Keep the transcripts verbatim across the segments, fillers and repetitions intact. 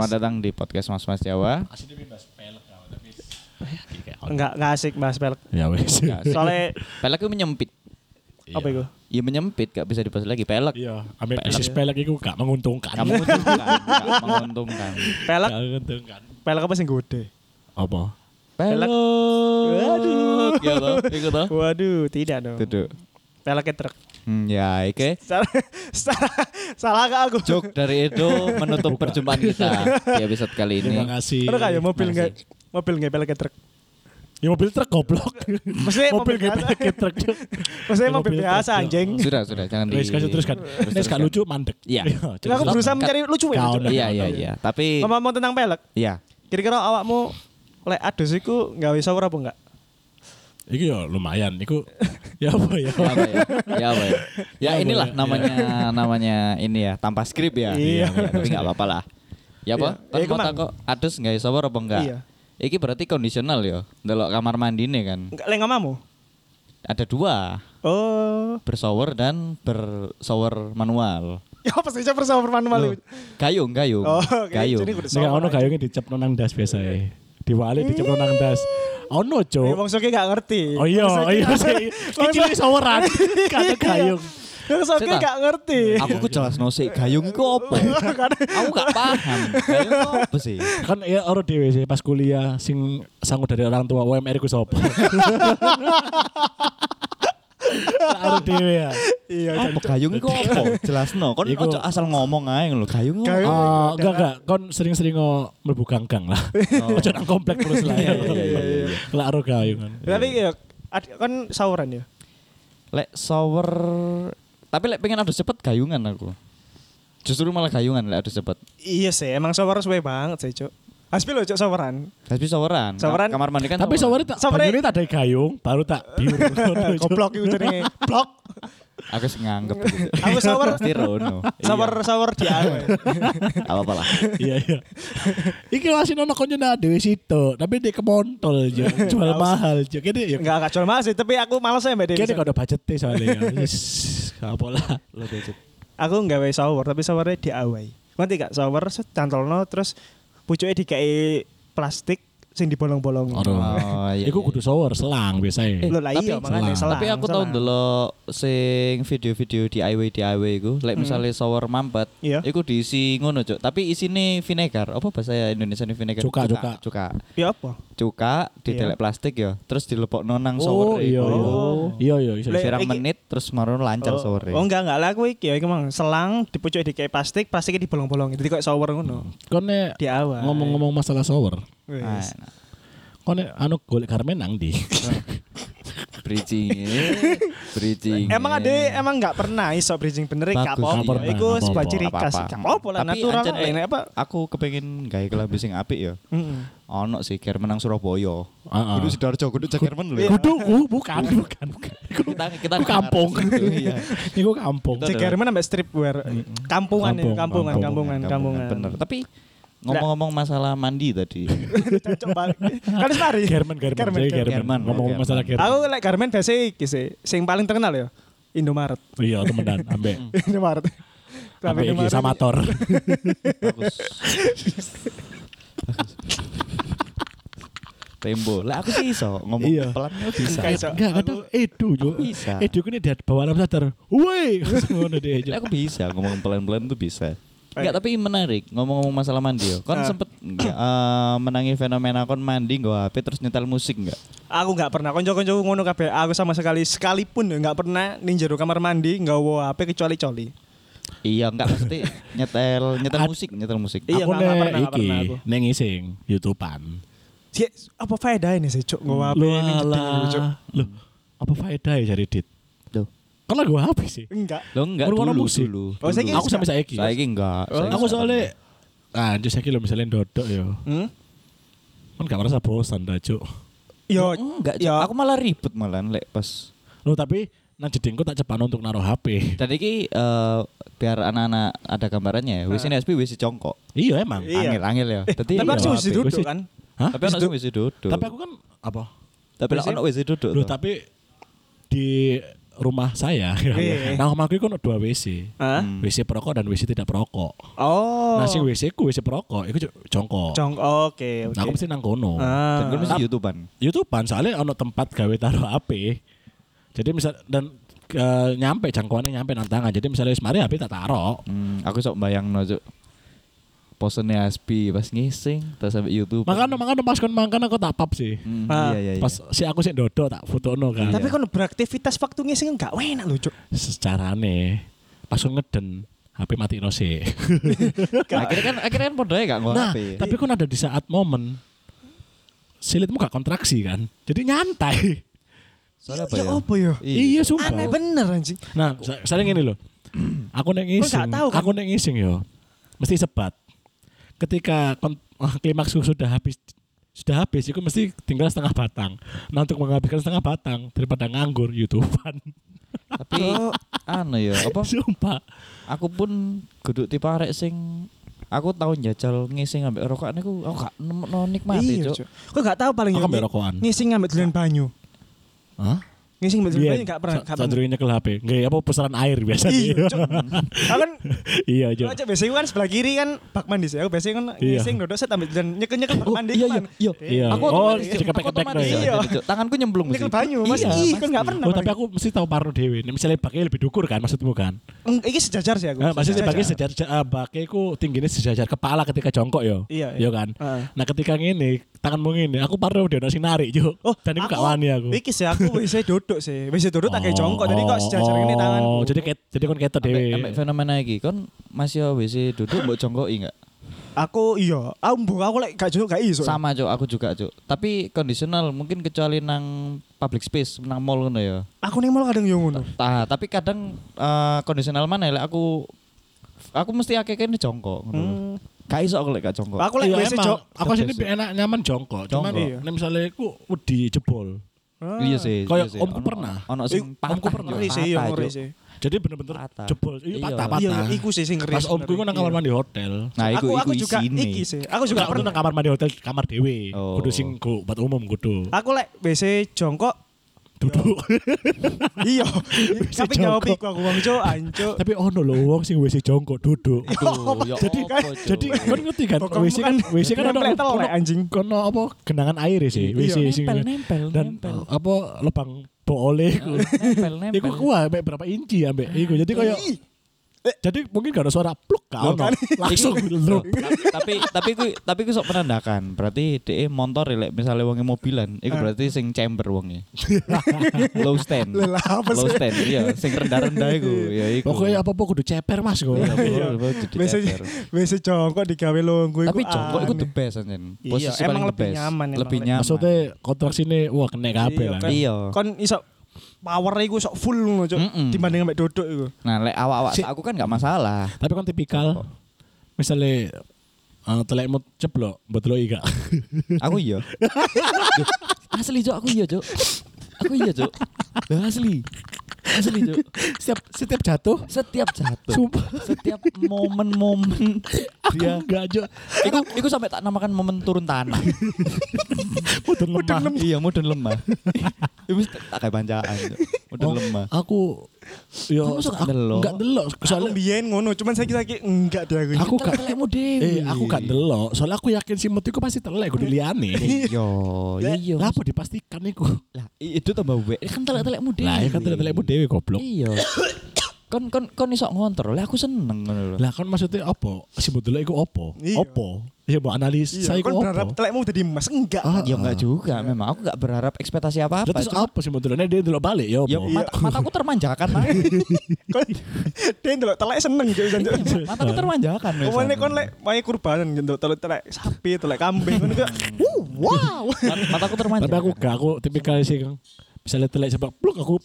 Selamat datang di podcast Mas Mas Jawa. Asli bahas pelek tapi enggak enggak asik bahas pelek. ya wis. Soalnya Pelek itu menyempit. apa itu? Iya menyempit, gak bisa dibahas lagi pelek. Iya, ambek bisnis pelek iku gak menguntungkan. Gak menguntungkan, gak menguntungkan. Pelek, Gak menguntungkan. pelek apa sing gede? Apa? Pelek. Waduh. Ya toh, iku toh. Waduh, tidak dong. Duduk. Peleknya truk. Hmm, ya, oke. Salah, salah, salah gak aku? Joke dari Edo menutup perjumpaan kita di episode kali ini. Terima kasih. Ada kayak mobil Makasih. nggak? Mobil nggak peleknya truk. Ya mobil truk goblok. Maksudnya mobil mobil gak biasa. pakai truk. Maksudnya Mobil mobil truk, biasa ya. anjing. Sudah, sudah, jangan di. Wis kasih teruskan. Nek gak lucu mandek. Iya. Jadi aku berusaha mencari lucu ya. Kau Cuk. nih. Iya, iya, iya. Tapi Ngomong tentang pelek, iya. kira-kira awakmu lek adus iku gawe shower apa enggak? Iku ya lumayan. Iku ya apa ya? Ya apa ya? Ya apa ya? Ya Apa inilah ya? namanya namanya ini ya, tanpa skrip ya. Iya. Ya, tapi enggak apa-apa lah. Ya apa? Iya. Kan Ya, mau kemang. takok adus enggak shower apa enggak? Iya. Iki berarti kondisional ya. Delok kamar mandi nih kan. Enggak lek ngamamu? Ada dua, Oh. bershower dan bershower manual. Ya apa sih shower shower manual itu? Gayung, gayung. Oh, oke. Gayung. Jadi kudu Nek shower ono aja. gayungnya dicep nang das biasa e. Diwali dicep nang das. Ono, Eh, Cuk. wong soke gak ngerti. Oh iya, Wong oh soke iya gak- sih. Wong Iki soke- saweran. Kata gayung. Wong soke Sita. gak ngerti. Aku ku jelas no sih, gayung iku apa? Aku gak paham. Gayung itu apa sih? Kan ya ora dhewe sih pas kuliah sing sangu dari orang tua U M R ku sapa? Ora dhewe ya. Iya, Apa gayung iku apa? Jelasno. Kon Iku- ojo asal ngomong ae lho. Gayung Gayung. apa? Oh, enggak enggak, kon sering-sering ngo mlebu gang-gang lah. Ojo nang komplek terus lah. Iya, iya, iya, iya. Lah aro gayungan. Tapi ya ad- kan sauran ya. Lek shower, tapi lek pengen adus cepet gayungan aku. Justru malah gayungan lek adus cepet. Iya sih, emang shower suwe banget sih, Cuk. Hasbi lho, Cuk, showeran. Tapi showeran. Showeran. Kamar mandi kan. Tapi saware tak Saware- banyune tak ada gayung, baru tak biur. Goblok iku jenenge. Blok. Aku sih nganggep gitu. Aku shower Pasti Rono. shower shower di awe. Apa-apa lah. Iya iya. Iki masih nono konyo nang dhewe situ, tapi dia kemontol jo, jual mahal jo. Kene ya. Enggak enggak jual mahal sih, tapi aku males ya Mbak Kene Dewi. kok ada budget soalnya ya. Wis apa lah. Lo budget. Aku nggawe shower, tapi showernya di awe. Ngerti gak? Shower set cantolno terus pucuke dikai plastik sing dibolong-bolong. Ora. Oh iya. Iku kudu shower selang biasanya. Lho lah iya makane selang. selang. Tapi aku tau selang. ndelok sing video-video D I Y D I Y iku, lek misalnya shower mampet, Iya. iku diisi ngono, Cuk. Tapi isine vinegar. Apa bahasa Indonesia ini vinegar? Cuka, cuka. Cuka. Ya apa? Cuka didelek plastik ya, terus dilepokno nang shower. Oh iya iya. Oh. Iya iya iso. Lek- Sirang iki- menit terus marono lancar shower. Oh enggak enggak lah aku iki ya iki mang selang dipucuk dikai plastik, plastiknya dibolong-bolong. Jadi kayak shower ngono. Kon nek Di awal. ngomong-ngomong masalah shower, Wis. kon nek anu golek garmen nang ndi? Bridging. Bridging. Emang ada emang nggak pernah iso bridging bener Bagus, gak apa-apa. nggak pernah, Iku nggak sebuah apa-apa. ciri khas. Apa-apa. Gak apa-apa lah Tapi natural ancen, lah, eh, ini apa? Aku kepengen gawe kelambi sing apik ya. Heeh. Ono sih ker menang Surabaya. Heeh. Kudu Sidoarjo, kudu Jakarmen lho. Iya. Kudu ku bukan bukan bukan. Iku Kita kita Iku kampung. Iya. Iku kampung. Kita- Cegerman sampai streetwear. Kampungan ya, Kampung, kampungan, kampung, kampungan, kampungan. Bener. Tapi ngomong-ngomong masalah mandi tadi. Coba. Kan wis mari. German German German, jadi German. German. Ngomong German. masalah German. Aku lek garmen biasa iki sih. Sing paling terkenal ya Indomaret. Iya temenan ambek Indomaret. ambek iki sama Thor. Bagus. Tembo. Lah aku sih iso ngomong Iya. pelan bisa. Enggak iso. Enggak kadang Edu jo. Bisa. Edu ini dia bawa alam sadar. Woi, ngono dia jo. Lah aku bisa ngomong pelan-pelan tuh bisa. Enggak, tapi menarik ngomong-ngomong masalah mandi yo. Kon Ah. sempet enggak eh, menangi fenomena kon mandi nggo H P terus nyetel musik enggak? Aku nggak pernah konco-konco ngono kabeh. Aku sama sekali sekalipun ya nggak pernah ning jero kamar mandi nggawa H P kecuali coli. Iya, enggak pasti nyetel nyetel Ad- musik, nyetel musik. Iya, Aku nggak- nggak nek pernah, nggak iki pernah aku. neng ising YouTubean. Sih, apa faedah ini sih, Cuk? Nggawa H P Lu ning jeding gitu, Cuk. alah. Loh, apa faedah ya cari dit? Loh. Kan lagu H P sih. Enggak. Lo enggak Ngrungokno dulu musik. dulu. Oh, saiki dulu. Aku sampai saiki. Saiki enggak. Oh. Saiki Aku enggak soalnya pernah. ah jadi saiki lo misalnya dodok ya. Hmm? Kan gak merasa bosan dah, Cuk. Yo, enggak, ya. aku malah ribet malah lek pas. Loh, tapi nang jedingku tak cepat untuk naruh H P. Dan iki eh, biar anak-anak ada gambarannya ya. Wis ini S P wis congkok. Iya emang. Iya. Angel-angel ya. Dadi Tapi iya, aku H sih P. duduk Gua sih- kan. Hah? tapi ono sing wis duduk. Tapi aku kan apa? tapi lek ono wis duduk. Loh, toh. tapi di rumah saya. Iya. Nah, rumahku itu ono dua W C. Hah? Hmm. W C perokok dan W C tidak perokok. Oh. Nah, sing W C ku W C perokok iku jongkok. Jong oke oke. Nah, aku mesti nang kono. Ah. Dan gue mesti YouTubean. YouTubean soalnya ono tempat gawe taruh H P. Jadi misal dan uh, nyampe jangkauannya nyampe nang tangan. Jadi misalnya wis mari H P tak taruh. Hmm, aku sok bayangno cuk. Posennya Aspi pas ngising terus sampai YouTube. Makanya makanya pas kon makan aku tak pap sih. Hmm, Ah. iya iya iya. Pas si aku sih dodo tak fotono kan. Tapi kan beraktivitas waktu ngising enggak enak lho, Cuk. Secarane pas kon ngeden H P mati no sih. akhirnya kan akhirnya kan podoe gak ngono Nah, H P. tapi kan ada di saat momen silitmu gak kontraksi kan. Jadi nyantai. Soalnya apa Ya ya? apa ya? Iya sumpah. Aneh bener anjing. Nah, sa- saya gini loh. Aku nek ngising, nggak tahu kan? aku nek ngising yo. Mesti sebat. Ketika kon- oh, klimaks sudah habis sudah habis, itu mesti tinggal setengah batang. Nah, untuk menghabiskan setengah batang daripada nganggur YouTubean. Tapi anu ya, apa? Sumpah. Aku pun kudu tipe arek sing aku tau njajal ngising ambek rokokan iku aku gak nemokno nikmati, Iya, Cuk. Cuk. Kok enggak tahu paling Aku ya, ambek ngi- rokokan. Ngising ngambil dolan banyu. Hah? Ngising ngambil dolan Iya, banyu enggak pernah. enggak pernah. sadurunge nyekel H P. Nggih, apa pusaran air biasa. Iya, Cuk. Aku kan Iya, Jo. Cuk, biasanya kan sebelah kiri kan bak mandi sih. Aku biasanya kan Iya. ngising dodok set ambil dan nyekel-nyekel bak Oh, mandi. iya kan. iya iya. Iya. Aku Oh, otomatis, Cuk. jika Aku pakai otomatis back iya. jadi, Cuk. Tanganku nyemplung Nyekel mesti. banyu, Mas. Iya, Ih, kan pasti. enggak pernah. Oh, tapi aku mesti tahu parno dhewe. Nek misalnya baknya lebih dukur kan maksudmu kan? Eng, iki sejajar sih aku. Nah, maksudnya Sejajar. baknya sejajar uh, baknya iku tingginya sejajar kepala ketika jongkok yo. Iya, Iya iya. kan? Heeh. Nah, ketika ngene, tanganmu ngene, aku parno udah sing narik, Jo. Oh, dan iku gak wani aku. Iki sih aku wis dodok sih. Wis dodok tak kayak Oh, jongkok. Jadi kok sejajar ini tanganku. Oh, jadi ket, jadi kon ketok Ambek dhewe. ambek fenomena iki kon masih W C duduk mbok jongkoki enggak? Aku iya, aku mbok aku lek gak jongkok gak iso. Sama, Cuk, aku juga, Cuk. Tapi kondisional mungkin kecuali nang public space, nang mall ngono ya. Aku ning mall kadang yo ngono. Nah, tapi kadang eh, kondisional mana lek aku aku mesti akeh kene jongkok ngono. Hmm. Gak iso aku lek gak jongkok. Aku lek Iya, wis emang. jok. Aku sini lebih enak nyaman jongkok. Cuman Jongkok. Iya. nek misalnya aku wedi jebol. Iya sih. Kayak iya sih. omku Ono- pernah. Ono Iku, sing patah. omku pernah. Cuk, Ngeri sih, iya patah, ngeri Cuk. sih. Jadi bener-bener Patah. jebol. Iya, Iya. patah-patah. Iya, iya, iku sih sing ngeri. Pas omku iku nang kamar mandi hotel. Nah, iku aku iku aku juga isine. iki sih. Aku Juga juga aku pernah. nang kamar mandi hotel kamar dhewe. Oh. Kudu sing ku buat umum kudu. Aku lek W C jongkok Duduk. iya. Tapi jawab jongkok. iku aku wong cuk, anjuk. Tapi ono lho wong sing W C jongkok duduk. Aduh, ya Jadi apa, Cuk? Jadi kan ngerti kan Kok W C kan W C kan ono nempel ono telek, anjing. kono apa genangan air sih W C Iya. sing Nempel, nempel, dan nempel. apa lubang boleh iku. Nempel, nempel. Iku kuah ambek berapa inci ambek iku. Jadi koyo Ih, jadi mungkin gak ada suara pluk gak Loh, ono. kan? Langsung Loh, drop. ta- tapi tapi ku tapi ku sok menandakan. Berarti dhek motor lek misale wonge mobilan, iku berarti sing chamber wonge. Low stand. Lah, apa Low sih? stand. Iya, sing rendah-rendah iku, ya iku. Pokoknya apa-apa kudu ceper Mas kok. Iya, betul, jadi W C ceper. W C jongkok digawe longgo iku. Tapi jongkok iku the aneh. best anjen. Iya, Posisi emang paling the lebih best. nyaman, emang Lebih lebih- nyaman. Maksudnya kontraksine wah kena kabeh Iya, lah. kan. Iya. Kon iso power iku sok full ngono cuk. Mm-mm. Dibanding ambek dodok iku. Nah, lek awak-awak Si- aku kan gak masalah. Tapi kan tipikal misalnya uh, telekmu ceblok, mbok deloki gak? Aku iya. Duh, asli, Cuk, aku iya, Cuk. Aku iya, Cuk. Lah, asli. Asli, Cuk. setiap setiap jatuh Setiap jatuh, sumpah setiap momen-momen dia aku enggak aja Iku, iku sampai tak namakan momen turun tanah. mudun lemah. Iya, mudun lemah. Iku wis tak kayak bancaan. Cuk. Mudun Oh, lemah. Aku yo Kamu suka aku ndelok? enggak delok Aku soalnya biyen ngono, cuman saiki-saiki enggak dia aku. aku gak telekmu dewe. eh aku gak delok soalnya aku yakin si Mut iku pasti telek kudu liyane. Iya, iya. Lah apa dipastikan iku? Lah, i- itu tambah we. Kan telek-telekmu dewe. Lah ya kan telek-telekmu dhewe goblok. Iya. Kon kon kon iso ngontrol. Lah aku seneng ngono lho. Lah kan maksudnya apa? Si Mut delok iku apa? Iya. Apa? Ya mbok analisa Iya, iku kon berharap apa? telekmu dadi emas enggak. Ah, Ya enggak juga memang. Aku enggak berharap ekspektasi Lah apa-apa. terus Cuma- apa sih Mut deloknya dia delok balik ya Ya apa? mata, mataku termanjakan lah. Kon dia ndelok telek seneng cuk jan. Mataku termanjakan. wes. Omone kon lek wae kurbanan ndelok telek telek sapi, telek kambing kon iku. Uh, wow. Mat- Mataku termanjakan. Tapi aku gak, aku tipikal sih misalnya telek sepak pluk aku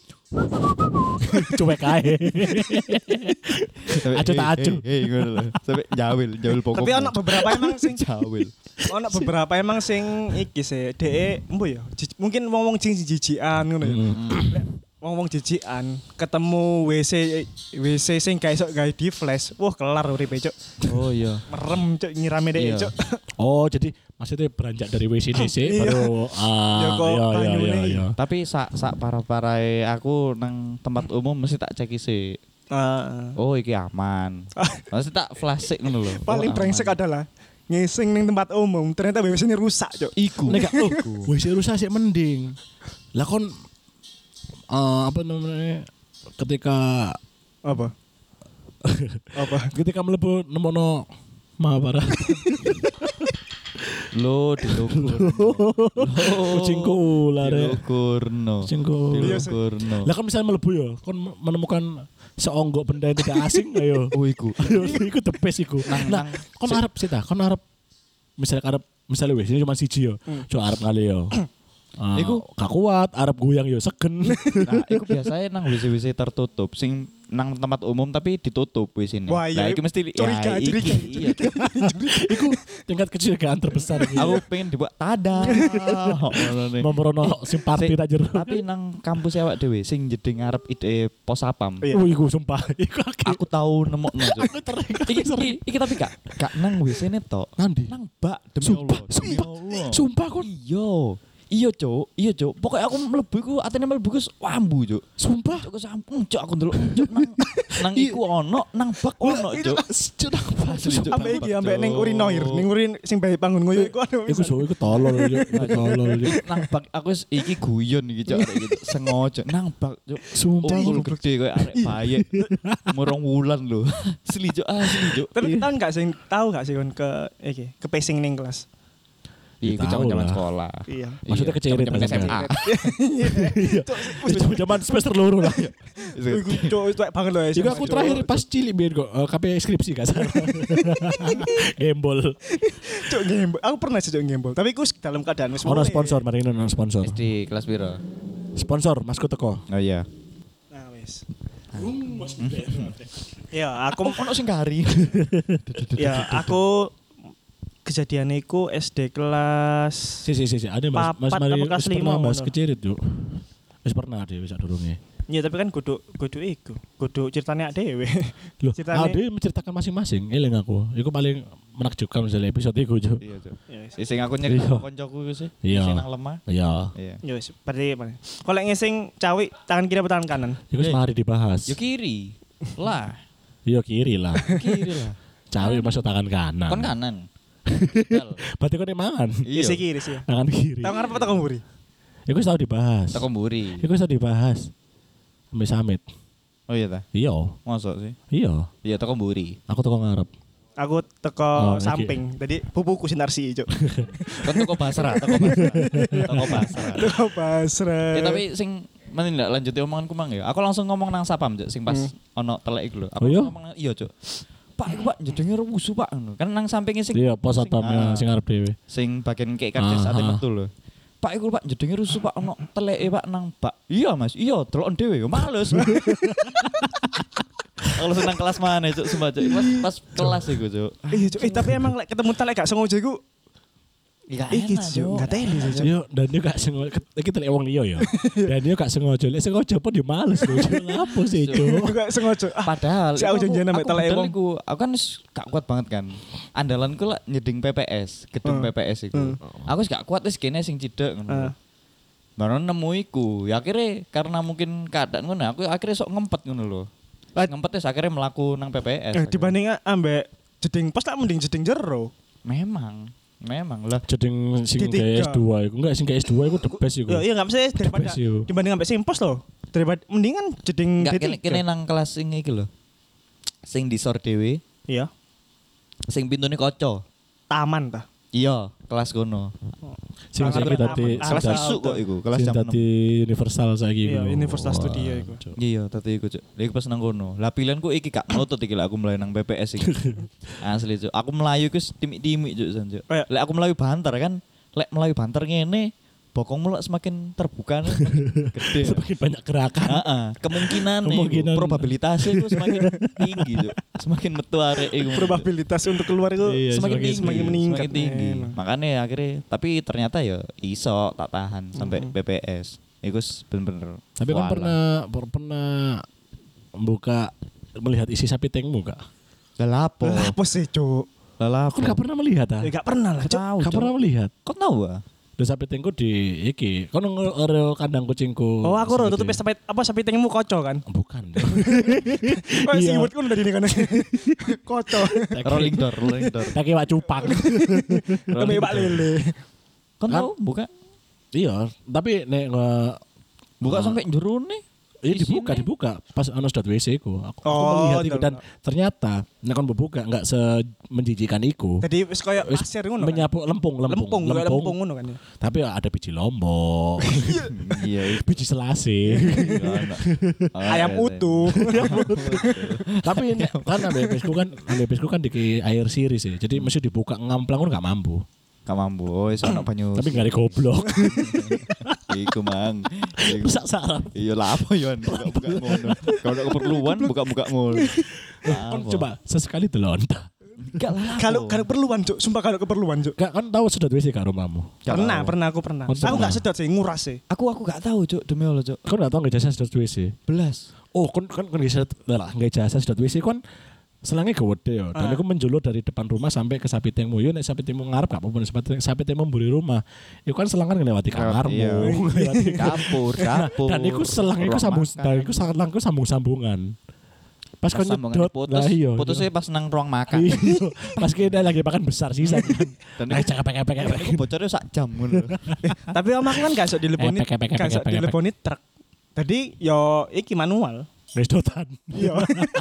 cuek ae. Sampai, Acu tak "Hey, acu." hey, hey, ngono lho. Sampai jawil, jawil pokok. Tapi ana beberapa emang sing jawil. ana beberapa emang sing iki sih, dhek embo ya. jij- Mungkin wong-wong sing jijikan ngono ya. Hmm. Lek wong-wong jijikan ketemu W C W C sing gak iso gawe di flash. Wah, kelar uripe, Cuk. Oh iya. Merem, Cuk, nyirame Iya. dhek, Cuk. Oh, jadi maksudnya beranjak dari W C D C Iya. baru ah Ya kok iya iya banyune iya iki. iya. Tapi sak sak para-parae aku nang tempat umum mesti tak cek isi. Ah. Oh iki aman. Mesti tak flashik ngono lho. Paling Oh, brengsek aman. adalah ngising ning tempat umum, ternyata W C-ne rusak, Cuk. Iku. Nek gak oh, W C rusak sih mending. Lah kon eh, apa namanya ketika Apa? Apa? ketika mlebu nemono Mahabharata Lo dilukur. kucingku ular ya. Dilukurno. Kucingku. Iya, Dilukurno. Lah kan misalnya mlebu ya, kon menemukan seonggok benda yang tidak asing, ayo. Oh iku. Ayo, iku the best iku. Nang- Nah, nang- kon arep sih ta, kon arep misalnya arep misalnya wis ini cuma siji yo. Cuk arep ngali yo. Ah, Iku- gak kuat, arep goyang yo segen. Nah, iku biasanya nang W C W C tertutup, sing nang tempat umum tapi ditutup W C-ne. Wah, iya. Nah, iki mesti Curiga, ya, iki, curiga, iya. Iku tingkat kecurigaan terbesar iki. Aku pengen dibuat tada. Ngono nih. Nomorono sing party Sing- tak jero. Tapi nang kampus awak dhewe sing jeding ngarep ide pos sapam. Iya. Oh, iku sumpah. Iku aku Aku tahu nemokno. Cuk. aku teringat Iki, iki, iki tapi gak gak nang W C-ne tok. Nandi? Nang bak demi Sumpah, Allah. Demi sumpah. Allah. Sumpah kon. Iya. Iya, Cuk. Iya, Cuk. Pokoknya aku mlebu iku atene mlebu iku wambu, Cuk. Sumpah. Cuk sampung, Cuk aku ndelok Cuk nang nang iku ono, nang bak ono, Cuk. Cuk Asli, Cuk. Ambek iki Cuk. ambek ning urinoir, ning urin sing bae bangun ngoyo iku anu. Iku so iku tolol yo. Iku tolol yo. Nang bak aku wis iki guyon iki, Cuk. Arek gitu. Sengaja nang bak, Cuk. Sumpah. Unggul gede koyo arek bayek. Murung wulan lho. Asli, Cuk. Asli, Cuk. Tapi tahu enggak sing tahu enggak sih kon ke iki, ke pacing ning kelas. Iya, iku Tahu zaman lah. sekolah. Iya. Maksudnya kecerit zaman S M A. Zaman semester loro lah. Iku cuk itu banget loh. Iku aku terakhir pas cilik biar kok eh, K P skripsi gak salah. Gembol. Cuk gembol. Aku pernah sih cuk gembol, tapi iku dalam keadaan wis Ono mulai. sponsor, mari ono sponsor. S D kelas piro? Sponsor, masku teko. Oh iya. Nah, wis. Ya, aku Ono sing kari. ya aku kejadian iku S D kelas Si si si si, ada Mas Mas Papat mari apa kelas wis pernah lima Mas ngono. kecirit yuk. Wis pernah dhewe sak durunge. ya tapi kan kudu kudu iku, kudu ceritanya dhewe. Loh, Ceritanya- ade menceritakan masing-masing. Eling aku. Iku paling menakjubkan misalnya episode iku, Cuk. Iya, Cuk. Ya wis. Sing aku nyek Iya. koncoku iku sih. Iya. Sing nang lemah. Iya. Iya. Ya wis, berarti mana? Kalau ngising cawi tangan kiri apa tangan kanan? Iku wis Eh. mari dibahas. Yo kiri. Lah, Iya kiri lah. kiri lah. Cawi masuk tangan kanan. Kon kanan. Dal. Berarti kon mangan. Iya. Iya. Si kiri sih. Tangan kiri. Tahu ngarep apa tahu mburi? Iku wis tau dibahas. Teko mburi. Iku wis tau dibahas. Sampai summit. Oh iya ta. Iya. Mosok sih. Iya. Iya teko mburi. Aku teko ngarep. Aku teko Oh, oke. samping. Tadi pupuku sinarsi cuk. Kon teko Basra, teko Basra. Teko Basra. Teko pasrah. Ya tapi sing men ndak lanjuti omonganku mang ya. Aku langsung ngomong nang sapam, Cuk, sing pas ono telek iku lho. Aku Oh, iya? ngomong iya, Cuk. Pak, iku Pak jedenge rusuh, Pak. Ngono. Kan nang sampinge sing Iya, pos satpam ah, sing ngarep dhewe. sing bagian kayak karcis Ah, ate ah. metu lho. Pak iku Pak jedenge rusuh Pak ono teleke Pak nang Pak. Iya Mas, iya delokon dhewe yo males. Kalau senang kelas mana Cuk, sumpah Cuk. Pas pas kelas iku Cuk. Iya cuk. Eh tapi emang lek ketemu telek gak sengaja iku Iya iki cuk, gak teli cuk. Yo, dan dia gak sengaja, kita lihat wong liya ya. Dan dia gak sengaja, lek sengaja pun dia males lho. Cuk. Lapo sih, Cuk. Gak sengaja. Ah, Padahal Si aku iku janjian ambek aku teleke bedol wong. iku, aku kan wis gak kuat banget kan. Andalanku lah nyeding P P S, gedung Hmm. P P S iku. Hmm. Aku wis gak kuat wis kene sing cidek Ah. ngono. Baru nemu iku. Ya akhirnya karena mungkin keadaan ngono, aku akhirnya sok ngempet ngono lho. Ah. Ngempet wis akhirnya melaku nang P P S. Eh dibanding ambek jeding pos lah mending jeding jero. Memang, memang lah. Jeding sing D tiga. kayak S dua iku enggak sing kayak S dua iku the best iku. Ya iya enggak mesti daripada best, yo. dibanding ambek sing pos loh. Daripada mendingan jeding Enggak D tiga. kene kene nang kelas sing iki lho. Sing disor dhewe, Iya. sing pintune kaca. Taman ta. Iya, kelas kono. Sing Sangat tapi dadi aman. Kelas Asal isuk kok iku, kelas sing jam enam. dadi universal saiki Iya, iku. Universal Wah, Studio iku. Cuk. Iya, tadi iku Cuk. Lha iku pas nang kono. Lah pilihanku iki gak nutut iki lah aku mlayu nang P P S iki. Asli Cuk. Aku melayu iku timik-timik Cuk san Cuk. Kayak- Lek aku melayu banter kan, lek melayu banter ngene, bokongmu lek semakin terbuka nih, gede. Semakin banyak gerakan. Heeh, kemungkinan Kemungkinan. iku, probabilitasnya itu semakin tinggi Cuk. Semakin metu arek iku. Probabilitas untuk keluar itu Iya, semakin, semakin- tinggi, semakin meningkat. semakin tinggi. Memang. Makanya akhirnya tapi ternyata ya iso tak tahan sampai Mhm. P P S. Iku s- bener-bener. Tapi kan walah. pernah per- pernah buka melihat isi sapi tengmu gak? Lah lapo? Lah apa sih, Cuk? Lah lapo? Aku gak pernah melihat ah. Ya gak pernah lah, Cuk. Tahu. Gak Cuk. pernah melihat. Kok tahu ah? Dan sapi tengku di iki. Kau nge kandang kucingku. Oh, aku ro Segede. tutup sampai apa sampai tengmu koco kan. Bukan. Oh, Iya. siwut kan udah di kana. Koco. Rolling door, rolling door. Kaki wak cupang. Kami Pak Lele. Kan Kan? tahu buka Iya, tapi nek nge buka Ah. sampai jero nih. Iya Di dibuka, sini. dibuka pas ono sedot W C ku. Aku, aku Oh, melihat itu ndelok. dan ternyata nek kon buka enggak semenjijikan iku. Jadi wis koyo Wis pasir ngono. Kan? menyapu lempung, lempung, Lempung, kayak lempung ngono kan ya. Tapi ada biji lombok, Iya. biji selasi. Ayam utuh. Tapi ini kan ambek kan ambek kan di air siri sih. Jadi mesti dibuka ngamplang kan gak mampu. Gak mampu. Oh, iso ono banyu. Tapi gak ada goblok. Iku mang. Iku. Rusak saraf. Iya lah apa Yon, buka-buka ngono. Kalau ada keperluan buka-buka ngono. Kan coba sesekali delonta. Enggak lah. Kalau kalau keperluan, Cuk. Sumpah kalau keperluan, Cuk. Gak kan tahu sedot W C gak rumahmu? Pernah, pernah aku pernah. Oh, Aku pernah. enggak sedot sih, nguras sih. Aku aku gak tahu, Cuk, demi Allah, Cuk. Kau gak tahu gak jasa sedot W C? Belas. Oh, kan kan kan jasa lah, gak jasa sedot W C kan selangnya gede ya. Dan Ah. aku menjulur dari depan rumah sampai ke sapi tengmu. Yo nek sapi tengmu ngarep gak apa-apa, sapi sapi tengmu mburi rumah. Iku kan selangan ngelewati kamarmu. Iya. Ngelewati Dapur, dapur. Dan iku selang iku ruang sambung, makan. dan iku selangku sambung-sambungan. Pas Pas kau sambungan nyedot, putus, lah iya. putusnya pas nang ruang makan. Iya. Pas kita lagi makan besar sisa kan. Dan Ayo itu- cakap pek pek pek. Iku bocornya sak jam ngono. Tapi om aku kan gak sok dileponi, Epek, epek, epek, gak sok epek, epek. dileponi truk. Tadi yo iki manual. Restotan. Iya.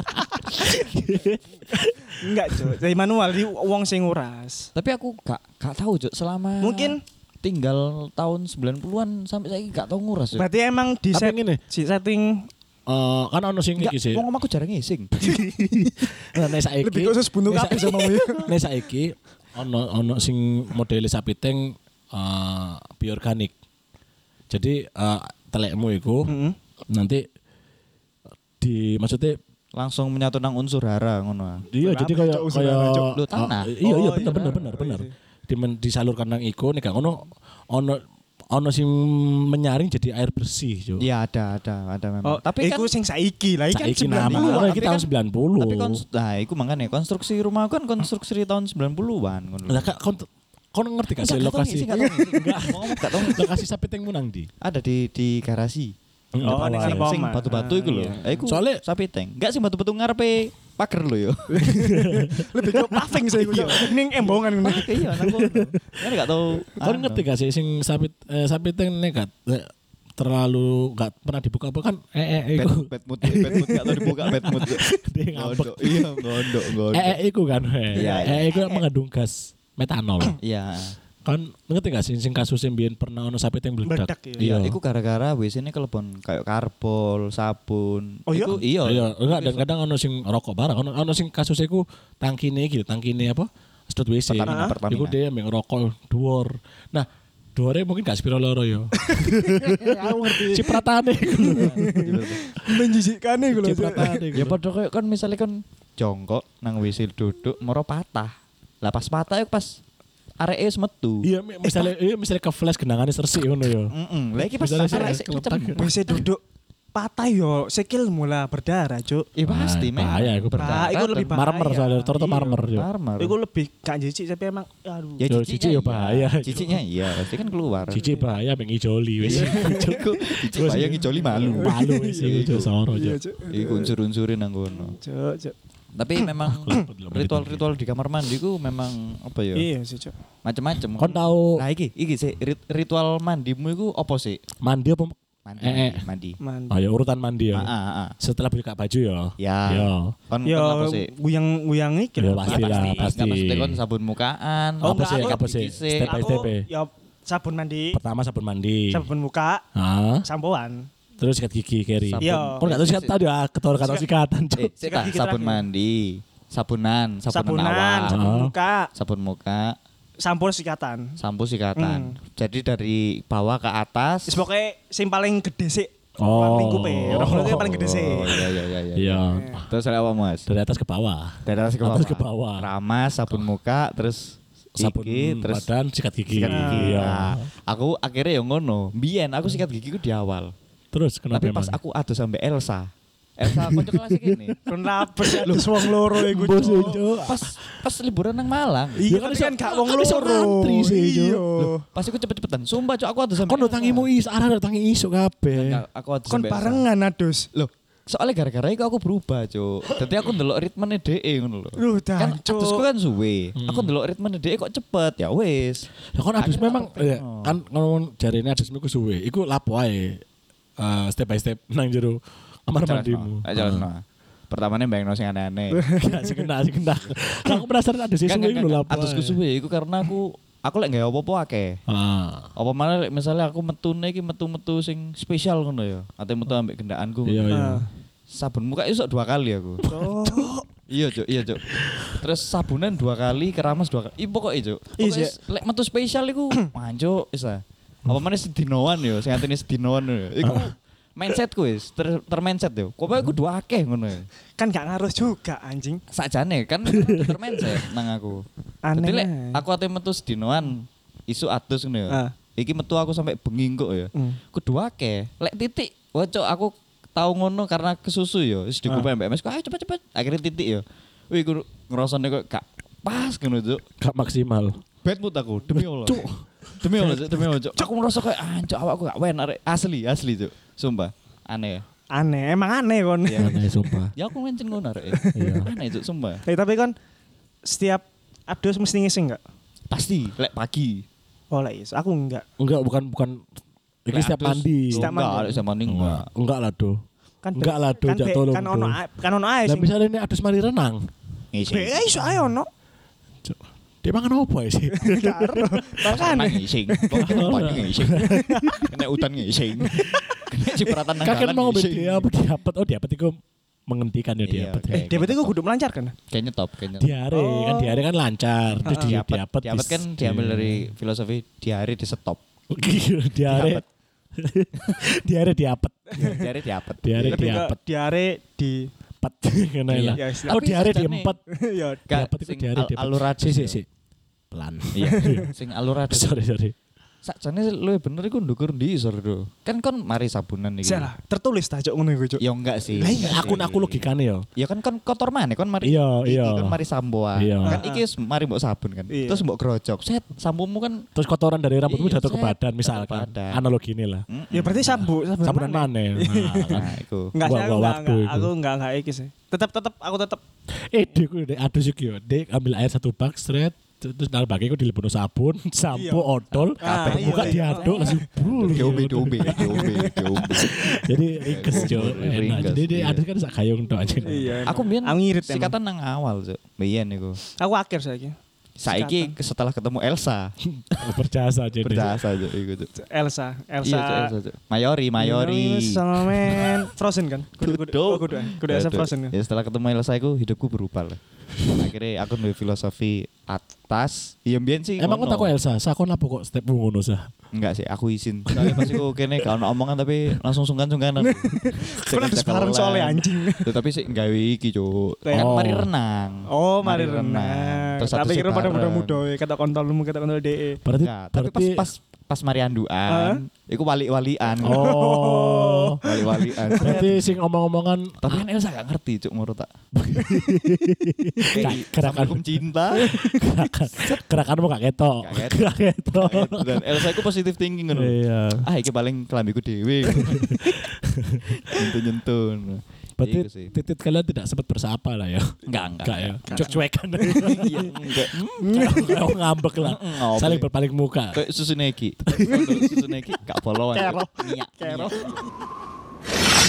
Enggak, Cuk. Dari manual di wong sing nguras. Tapi aku gak gak tahu, Cuk, selama Mungkin tinggal tahun sembilan puluhan sampai saiki gak tahu nguras, Cuk. berarti emang di Tapi set, ngene, si setting eh kan ono sing Enggak, iki sih. wong omahku jarang ngising. Nah, nek saiki lebih khusus buntu nek kabeh saiki- sama ya. Nek saiki ono ono sing model sapi teng eh bioorganik. Jadi eh telekmu iku Heeh. nanti di maksudnya Langsung menyatu nang unsur hara ngono. ah. iya Kenapa, jadi kayak Cuk, usul kayak apa, Cuk? Lu tanah. Ah, iya iya Oh, bener iya. bener bener Oh, bener. iya. Dimen, disalurkan nang iku nek gak ngono ono ono sing menyaring jadi air bersih, Cuk. Iya ada ada ada memang. Oh, tapi kan iku sing saiki lah, iki kan Saiki sembilan nama puluhan. iki tapi tahun kan- sembilan puluh. Tapi kon nah iku makanya konstruksi rumah kan konstruksi tahun sembilan puluhan ngono. Lah kak kon kon ngerti gak sih Enggak, lokasi Enggak tahu ngisi, enggak tahu ngisi. Ngomong gak tahu ngisi. lokasi sapi tengmu nang ndi? Ada di di garasi. Oh, Depan ning wae. ngarep Sing omah. batu-batu iku lho. Ah, Eh, iku Soalnya- sapi tank. Enggak sih batu-batu ngarepe pager lho yo. Lebih ke paving saya iku. Ning embongan ngono. Iya nang kono. Kan gak tahu. Kon ngerti gak sih sing sapi eh, sapi teng nekat eh, terlalu gak pernah dibuka apa kan eh eh iku bad mood, bad mood gak tau dibuka bad mood. dia ngambek. Gondok. Iya, gondok, gondok. Eh eh iku kan. Eh Iya, eh iku mengandung gas metanol. Iya. Kan ngerti gak sih sing kasus yang biyen pernah ono sapi teng meledak. Meledak, iya. Iya, Iya. iku gara-gara W C ini kelebon kayak karbol, sabun. Oh, iya? Iku iya. Iya, enggak dan kadang ono sing rokok barang, ono ono sing kasus iku tangkine iki, tangkine apa? Sedot W C. Pertamina, Ah. Pertamina. Iku dia yang rokok dhuwur. Nah, dhuwure mungkin gak sepiro loro yo. Aku ngerti. Cipratane iku lho. Menjijikkan iku lho. Cipratane iku. Ya padha kayak kan misalnya kan jongkok nang W C duduk moro patah. Lah pas patah iku pas areke wis metu. Iya, mi- misalnya iya misalnya ke flash genangane resik ngono yo. Heeh. Lah iki pas Misalnya arek sih sik keletak. kecem. Wis duduk patah yo, sikil mula berdarah, Cuk. Iya pasti Ah, memang. bahaya, iku Bah, iku lebih bahaya. Marmer soalnya, rata-rata Iya. marmer yo. Marmer. Iku lebih gak jijik tapi emang aduh. Ya Yo, ciciknya cicik yo iya. bahaya. Ciciknya iya, pasti kan keluar. Cici bahaya pengen ijoli wis. Cukup. Cicik bayang ngijoli malu. Malu wis iku soro Iya, yo. Cuk. Iku unsur-unsurin nang kono. Cuk, Cuk. Tapi memang Kelebet lho, ritual-ritual di kamar mandi ku memang apa ya? Iya sih, Cuk. Macam-macam. Kon tahu Nah iki, iki sih rit- ritual mandimu iku apa sih? mandi apa? Mandi. Eh, eh. Mandi. Man. Oh ya urutan mandi Ah, ya. ah, ah. Setelah buka baju ya. Ya. Ya. Kon Yo, kon apa sih? guyang-guyang iki Ya, lho. pasti lah, pasti. Enggak maksudnya kon sabun mukaan. Oh, apa enggak, sih? aku Apa sih? gigi sih. Step by Aku step ya. ya sabun mandi, Pertama sabun mandi. sabun muka, Ah, sampoan. terus sikat gigi keri. Sabun. Iya. Kon enggak tahu sikat tadi ya, ketor kata Sikat- sikatan. Eh, Cuk. sik Sikat tak, gigi sabun terakhir. mandi, sabunan, sabunan, Sabunan, awal, sabun Ah. muka, sabun muka, sampo sikatan. sampo sikatan. Hmm. Jadi dari bawah ke atas. Wis pokoke sing paling gede sih. Oh. Paling lingkupe, rambutnya yang paling gede sih. Oh iya iya iya iya. Iya. Terus ada apa Mas? Dari atas ke bawah. Dari atas ke bawah. Atas ke bawah. Ramas, sabun muka, terus sabun Iki, terus badan, sikat gigi. sikat gigi. Iya. Nah, aku akhirnya yang ngono. Biyen aku sikat gigi ku di awal. Terus kenapa Tapi pas emang? aku adu sampai Elsa. Elsa kanca kelas iki nih. Kenapa sih ada wong loro iku? Bos, Cuk? Cuk. Pas pas liburan nang Malang. Iya Ya kan kan iso- kan gak kan wong iso loro. ngantri sih, Cuk. Iya. Pas aku cepet-cepetan. Sumpah cok aku adu sampai Kon tangimu is, arah tangi isuk kabeh. Enggak, aku adu Kon sampai Elsa. barengan adus. Loh, soalnya gara-gara itu aku berubah, Cuk. Dadi aku ndelok ritmene dhek ngono lho. Loh, Kan dan, Cuk. adusku kan suwe. Aku ndelok ritmene dhek kok cepet, ya wis. Ya kon adus Akhirnya memang aku ya, pengen. kan ngomong jarine adusmu ku suwe. Iku lapo ae. eh, step by step nang jero kamar mandimu. Aja jalan. Pertamanya bayangno sing aneh-aneh. Gak sih kena, sih kena. Aku penasaran adus Kan suwe iku lho lapo. ae. adusku suwe iku karena aku aku lek gawe apa-apa akeh. Ah. Apa mana lek misalnya aku metune iki metu-metu sing spesial ngono ya. Ate metu ambek gendaanku. Iya iya. Ah. Sabun muka iso dua kali aku. Oh. Iya, Cuk, iya, Cuk. Terus sabunan dua kali, keramas dua kali. Ih, pokoknya, Cuk. Iya, Pokoknya lek metu spesial iku manjuk isa. Apa mana sedinoan yo, sing atine sedinoan yo. Iku mindsetku wis ter, termindset yo. Kok aku dua akeh ngono ya. Kan gak ngaruh juga anjing. Sakjane kan termindset nang aku. Aneh. Jadi lek ae. aku ate metu sedinoan isu adus ngono ya. Ah. Iki metu aku sampai bengi kok ya. Hmm. Kudu akeh. Lek titik, wah Cuk, aku tahu ngono karena kesusu ya. Wis dikupai mbak Mas. Ayo cepet-cepet. Akhirnya titik ya. Wih, aku ngerasane kok gak pas ngono, Cuk. Gak maksimal. Bad mood aku, demi Allah. Cuk. Demi Allah, Cuk, demi Allah, Cuk. Aku ngerasa kayak anjir awakku gak wen arek. Asli, asli, Cuk. Sumpah. Aneh ya. Aneh, emang aneh kon. Iya. Aneh sumpah. Ya aku mencen ngono arek. Iya. Aneh, Cuk, sumpah. Eh tapi kon setiap adus mesti ngising enggak? Pasti lek pagi. Oh lah yes, aku enggak. Enggak, bukan bukan iki Lek setiap adus. mandi. Setiap Enggak, mandi. lek setiap mandi enggak. Enggak lah, Do. Kan Enggak lah, Do, kan, jak be- tolong, kan Do. ono a- kan ono ae Lah sing. misalnya ini adus mari renang. Ngisi. Be eh, iso ae ono. Cuk. Dia mangan apa ya sih? Karo. Kan Makane. ngising. Pokoknya pagi ngising. Kena utan ngising. Kena cipratan nang Kakek dalan mau ngombe ngising. dia apa diapet? Oh diapet itu menghentikan ya Iya, diapet. oke. Eh, dia berarti gue kudu melancarkan. Kayaknya top, kayaknya. Diare kan Oh. diare kan lancar. Terus Diapet, dia diapet. diapet kan dis- diambil iya. dari filosofi diare di stop. Oke, diare. Diare diapet. Diare diapet. Diare Lebih ke diapet. diare di Pet kena Iya. lah. Ya, istilah- Oh Tapi diare sajane- diempet. ya Gak, Diapet itu sing diare al- diapet. alurade. Si si si. Pelan. Iya, sing alurade. Sorry sorry. Sakjane luwih bener iku ndukur ndi isor do. Kan kon mari sabunan iki. salah tertulis ta cok ngono iku cok. Ya enggak sih. Lah iya enggak aku sih. aku logikane yo. Ya kan kon kotor maneh kon mari. Iya, iki iya. Kon mari sampoan. Iya. Kan iki wis mari mbok sabun kan. Iya. Terus mbok grojok. Set sampomu kan Terus kotoran dari rambutmu Iya, jatuh ke set. badan Jatuh misalkan. ke badan. Analogi ini lah. mm, Ya berarti sabu Sabunan mana? Nah, kan. Nah, iku. Enggak sih Buang- aku buang enggak, waktu enggak. itu. Aku enggak enggak iki sih. Tetap tetap aku tetap Eh, dek, dek, adus iki yo. Dek ambil air satu bak, seret, terus dalam bagi aku dilebokno sabun, sampo, Iya. odol, Ah, kabeh buka iya, iya. diaduk langsung brul. Diombe diombe diombe diombe. Jadi ringkes jo. Enak. Ringkes, Jadi dia iya. adus kan sak gayung tok aja. Iya. Aku mbiyen Aku ngirit emang. sikatan nang awal, Cuk. Mbiyen iku. Aku akhir saiki. Saiki setelah ketemu Elsa, Berjasa aja deh. berjasa Cuk iku, Cuk. Elsa, Elsa. Iya, Cuk, Elsa, Cuk. Mayori, Mayori. Sama men Frozen kan? Kudu kudu Kudu. oh, kudu. Kudu Elsa Aduh. Frozen kan. Ya setelah ketemu Elsa iku hidupku berubah lah. Akhirnya aku duwe filosofi atas. Iya mbiyen sih. Emang ngono. kok tak Elsa, sakon apa kok step ngono sah? Enggak sih, aku izin. Soalnya pas iku kene gak ono omongan tapi langsung sungkan-sungkanan. Kan harus bareng soalnya anjing. Tuh, tapi sih gawe iki, Cuk. Kan Oh. mari renang. Oh, mari renang. Terus Tapi satu kira pada bareng. muda-muda we kata kontolmu kata kontol D E. Berarti Enggak, tapi pas berarti pas pas mari anduan, iku wali-walian. Oh. Wali-walian. Berarti sing omong-omongan Tapi kan Elsa gak ngerti, Cuk, menurut tak. Gak- gerakan- Assalamualaikum cinta. gerakan gerakanmu gak ketok. Gak ketok. Gak ketok. Dan Elsa iku positive thinking ngono. Iya. Ah, iki paling kelambiku dhewe. Nyentuh-nyentuh. Berarti Iku sih. titit kalian tidak sempat bersapa lah ya. Enggak, enggak. Enggak ya. Cuek-cuekan. Iya, enggak. Kayak ngambek lah. Mm, Saling apa? berpaling muka. Kayak susu neki. Susu neki gak bolongan. Kero. Niak. Kero. niak.